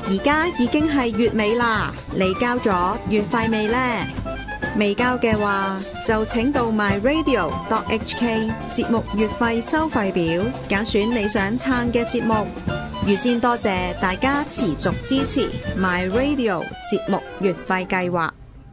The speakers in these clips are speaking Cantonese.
而家已經係月尾啦，你交咗月費未呢？未交嘅話，就請到 myradio.hk 節目月費收費表，揀選你想撐嘅節目。預先多謝大家持續支持 myradio 節目月費計劃。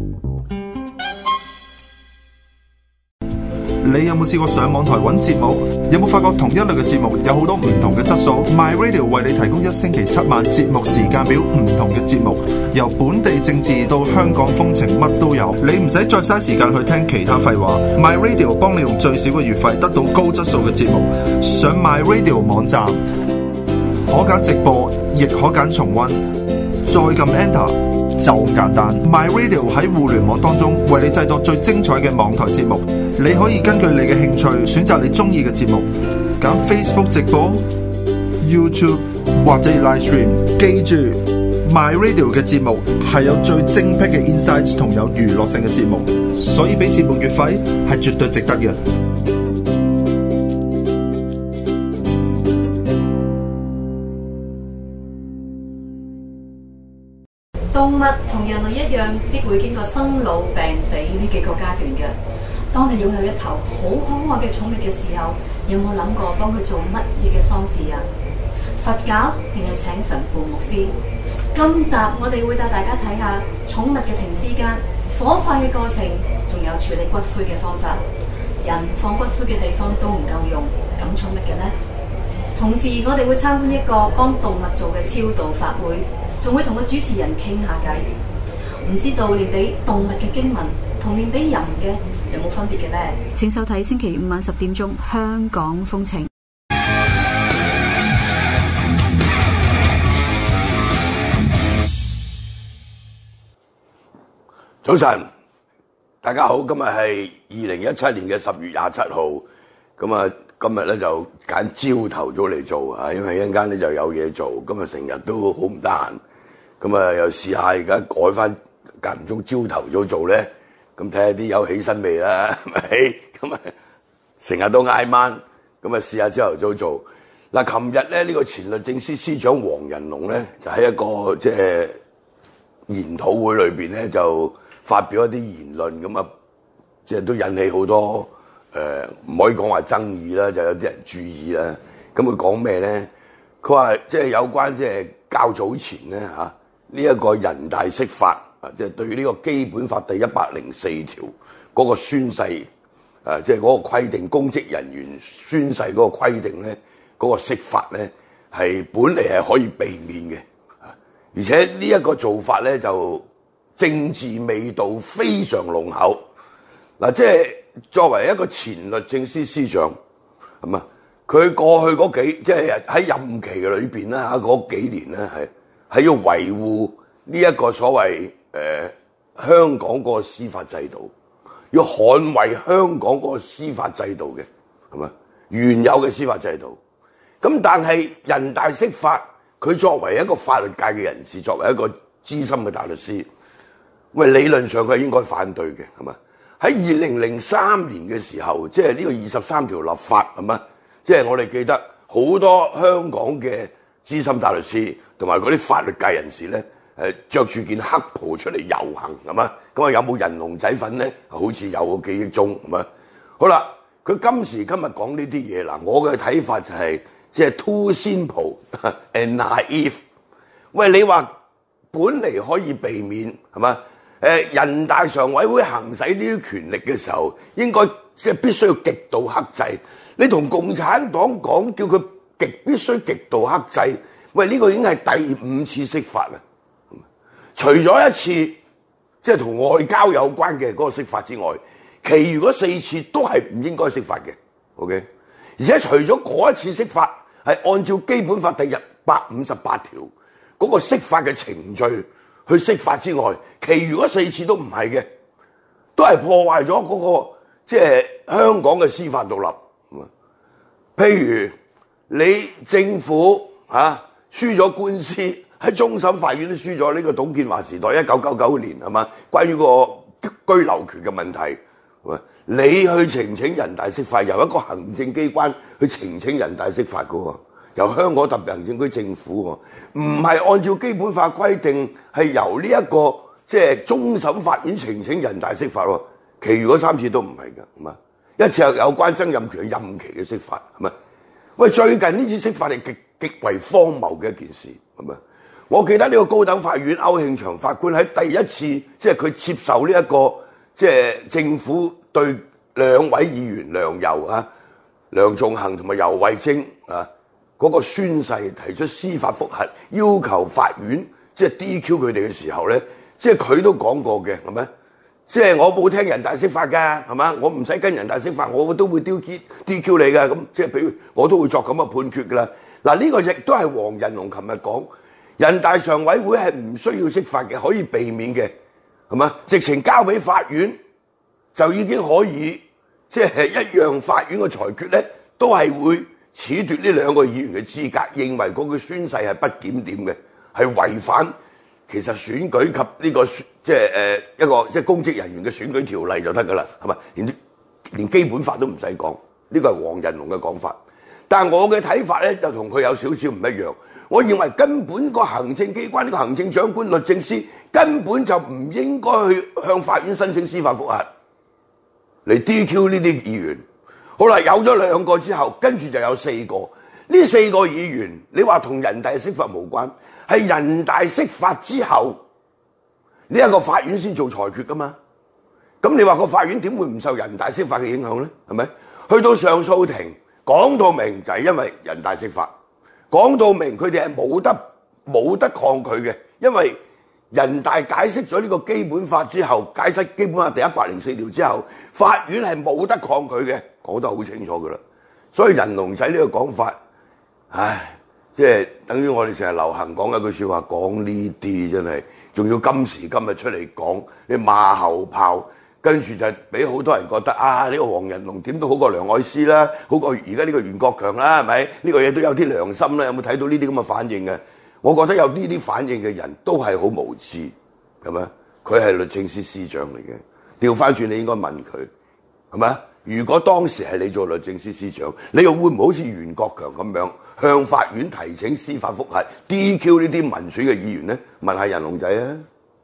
你有冇試過上網台揾節目？有冇發覺同一類嘅節目有好多唔同嘅質素？ MyRadio 為你提供1星期7晚節目時間表，唔同嘅節目，由本地政治到香港風情，乜都有。你唔使再嘥時間去聽其他廢話， MyRadio 幫你用最少嘅月費得到高質素嘅節目。上 MyRadio 網站可揀直播，亦可揀重溫，再撳 Enter。就咁簡單 ，MyRadio 喺互聯網當中為你製作最精彩嘅網台節目。你可以根據你嘅興趣選擇你中意嘅節目，揀 Facebook 直播、YouTube 或者 Live Stream。記住 ，MyRadio 嘅節目係有最精闢嘅 insights 同有娛樂性嘅節目，所以俾節目月費係絕對值得嘅。 動物同人類一樣，必會經過生老病死呢幾個階段嘅。當你擁有一頭好可愛嘅寵物嘅時候，有冇諗過幫佢做乜嘢嘅喪事啊？佛教定係請神父牧師？今集我哋會帶大家睇下寵物嘅停屍間、火化嘅過程，仲有處理骨灰嘅方法。人放骨灰嘅地方都唔夠用，咁寵物嘅呢？同時我哋會參觀一個幫動物做嘅超度法會，仲會同個主持人傾下偈。唔知道念俾動物嘅經文同念俾人嘅有冇分別嘅呢？請收睇星期五晚10點鐘《香港風情》。 早晨，大家好，今日係2017年嘅10月27號。咁啊，今日咧就揀朝頭早嚟做啊，因為一陣間咧就有嘢做。今日成日都好唔得閒，咁啊又試下而家改翻間唔中朝頭早做咧，咁睇下啲有起身未啦，係咪？咁啊成日都挨晚，咁啊試下朝頭早做。嗱，琴日咧呢個前律政司司長黃仁龍咧就喺一個即係研討會裏邊咧就發表一啲言論，咁啊即係都引起好多唔可以講話爭議啦，就有啲人注意啦。咁佢講咩咧？佢話即係有關即係較早前咧嚇呢一個人大釋法啊，即係對呢個基本法第104條嗰個宣誓即係嗰個規定，公職人員宣誓嗰個規定咧，嗰個釋法咧係本嚟係可以避免嘅，而且呢一個做法咧就政治味道非常濃厚。嗱，即係作為一個前律政司司長，係嘛？佢過去嗰即係喺任期嘅裏邊咧嚇嗰幾年咧係要維護呢一個所謂香港嗰個司法制度，要捍衛香港嗰個司法制度嘅，係嘛？原有嘅司法制度。咁但係人大釋法，佢作為一個法律界嘅人士，作為一個資深嘅大律師，喂，理論上佢係應該反對嘅，係嘛？喺2003年嘅時候，即係呢個23條立法，係嘛？即係我哋記得好多香港嘅資深大律師同埋嗰啲法律界人士咧，着住件黑袍出嚟遊行，係嘛？咁啊有冇人龍仔粉咧？好似有個記憶中，係嘛？好啦，佢今時今日講呢啲嘢嗱，我嘅睇法就係即係 too simple and naive。喂，你話本嚟可以避免，係嘛？人大常委會行使呢啲權力嘅時候，應該即係必須要極度克制。你同共產黨講，叫佢必須極度克制，喂，呢個已經係第5次釋法啦。除咗一次即係同外交有關嘅嗰個釋法之外，其餘嗰4次都係唔應該釋法嘅。OK， 而且除咗嗰一次釋法係按照基本法第158條嗰個釋法嘅程序去釋法之外，其餘嗰4次都唔係嘅，都係破壞咗嗰個即係香港嘅司法獨立。譬如你政府輸咗官司，喺終審法院都輸咗，呢個董建華時代1999年係嘛？關於個居留權嘅問題，你去呈請人大釋法，由一個行政機關去呈請人大釋法嘅喎， 由香港特別行政區政府喎，唔係按照基本法規定係由呢一個即係終審法院呈請人大釋法喎，其餘嗰3次都唔係㗎，係嘛？一次係有關曾蔭權任期嘅釋法，係咪？喂，最近呢次釋法係極為荒謬嘅一件事，係咪？我記得呢個高等法院歐慶祥法官喺第一次即係佢接受呢一個即係政府對2位議員梁游啊、梁頌恆同埋游蕙禎啊嗰個宣誓提出司法覆核，要求法院即係 DQ 佢哋嘅時候咧，即係佢都講過嘅，係咪？即係我冇聽人大釋法㗎，係嘛？我唔使跟人大釋法，我都會 DQ 你㗎。咁即係比如我都會作咁嘅判決㗎啦。嗱，呢個亦都係黃仁龍琴日講，人大常委會係唔需要釋法嘅，可以避免嘅，係嘛？直情交俾法院就已經可以，即係一樣法院嘅裁決咧，都係會褫奪呢2個議員嘅資格，認為嗰個宣誓係不檢點嘅，係違反其實選舉及呢個即係一個即係公職人員嘅選舉條例就得㗎啦，係咪？連基本法都唔使講，呢個係黃仁龍嘅講法。但係我嘅睇法咧，就同佢有少少唔一樣。我認為根本個行政機關呢個行政長官律政司根本就唔應該去向法院申請司法覆核嚟 DQ 呢啲議員。好啦，有咗2個之後，跟住就有4個。呢4個議員，你話同人大釋法無關，係人大釋法之後呢一個法院先做裁決㗎嘛？咁你話個法院點會唔受人大釋法嘅影響咧？係咪？去到上訴庭講到明就係因為人大釋法，講到明佢哋係冇得抗拒嘅，因為人大解釋咗呢個基本法之後，解釋基本法第104條之後，法院係冇得抗拒嘅，講得好清楚㗎啦。所以仁龍仔呢個講法，唉，即係等於我哋成日流行講一句説話，講呢啲真係，仲要今時今日出嚟講，你馬後炮，跟住就俾好多人覺得啊，呢個黃仁龍點都好過梁愛詩啦，好過而家呢個袁國強啦，係咪？呢個嘢都有啲良心啦，有冇睇到呢啲咁嘅反應嘅？我覺得有呢啲反應嘅人都係好無知，係咪？佢係律政司司長嚟嘅，調翻轉你應該問佢，係咪？如果當時係你做律政司司長，你又會唔會好似袁國強咁樣向法院提請司法覆核 DQ 呢啲民選嘅議員咧？問下仁龍仔啊！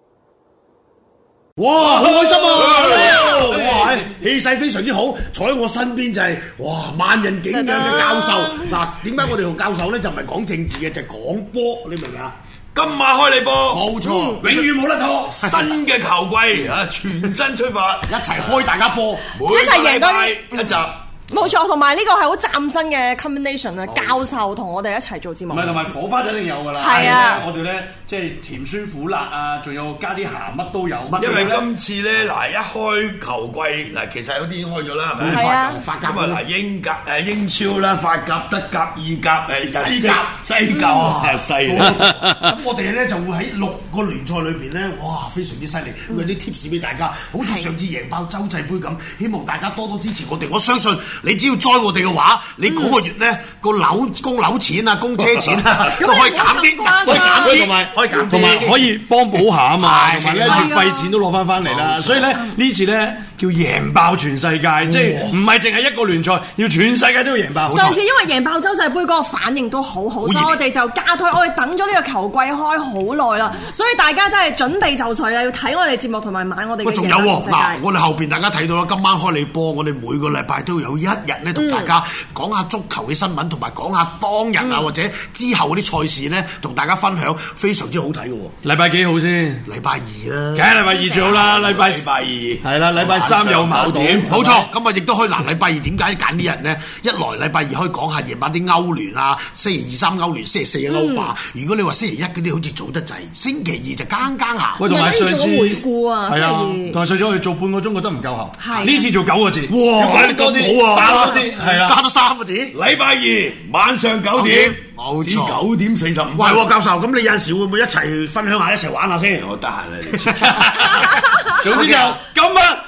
哇，好開心啊！哇，氣勢非常之好，坐喺我身邊就係哇萬人景仰嘅教授。嗱，點解我哋同教授咧就唔係講政治嘅，就係講波，你明唔明啊？ 今晚開你波， 冇錯，永遠冇得拖。 新嘅球季啊，全新出發， 一齊開大家波， 每個禮拜一集。 冇錯，同埋呢個係好嶄新嘅 combination 啊！教授同我哋一齊做節目， 唔係同埋火花就一定有㗎啦。 係啊， 我哋咧即係甜酸苦辣啊，仲有加啲鹹乜都有。 因為今次咧嗱，一開球季嗱，其實有啲已經開咗啦，係咪？ 係啊， 法甲咁啊嗱，英超啦、法甲、德甲、意甲、西甲、西。 咁我哋咧就會喺6個聯賽裏邊咧，哇，非常之犀利，會有啲 tips 俾大家，好似上次贏爆洲際杯咁，希望大家多多支持我哋。我相信。你只要栽我哋嘅話，你嗰個月咧個供樓錢啊、供車錢啊都可以減啲，可以減啲，同埋可以幫補下啊嘛，同埋咧月費錢都攞翻嚟啦。所以咧呢次咧叫贏爆全世界，即係唔係淨係一個聯賽，要全世界都要贏爆。 上次因為贏爆洲際杯嗰個反應都好好，所以我哋就加推，我哋等咗呢個球季開好耐啦，所以大家真係準備就緒啦，要睇我哋節目同埋買我哋嘅。 仲有喎嗱，我哋後邊大家睇到啦，今晚開你波，我哋每個禮拜都有一日咧同大家講下足球嘅新聞，同埋講下當日啊或者之後嗰啲賽事咧，同大家分享，非常之好睇嘅喎。禮拜幾號先？禮拜2啦，梗係禮拜2最好啦。禮拜2係啦，禮拜3有矛盾，冇錯。咁啊，亦都可以嗱，禮拜2點解揀呢日咧？一來禮拜2可以講下夜晚啲歐聯啊，星期2、3歐聯，星期4嘅歐霸。如果你話星期1嗰啲好似早得滯，星期2就更下。喂，同埋上次回顧啊， 係啊，同埋上次我哋做半個鐘覺得唔夠喉， 係呢次做9個字，哇，多啲好啊，加多啲係啦，加多3個字。禮拜2晚上9點，冇錯，9點45分。喂，教授，咁你有陣時會唔會一齊分享下，一齊玩下先？ 我得閒啦，你。 總之就今晚。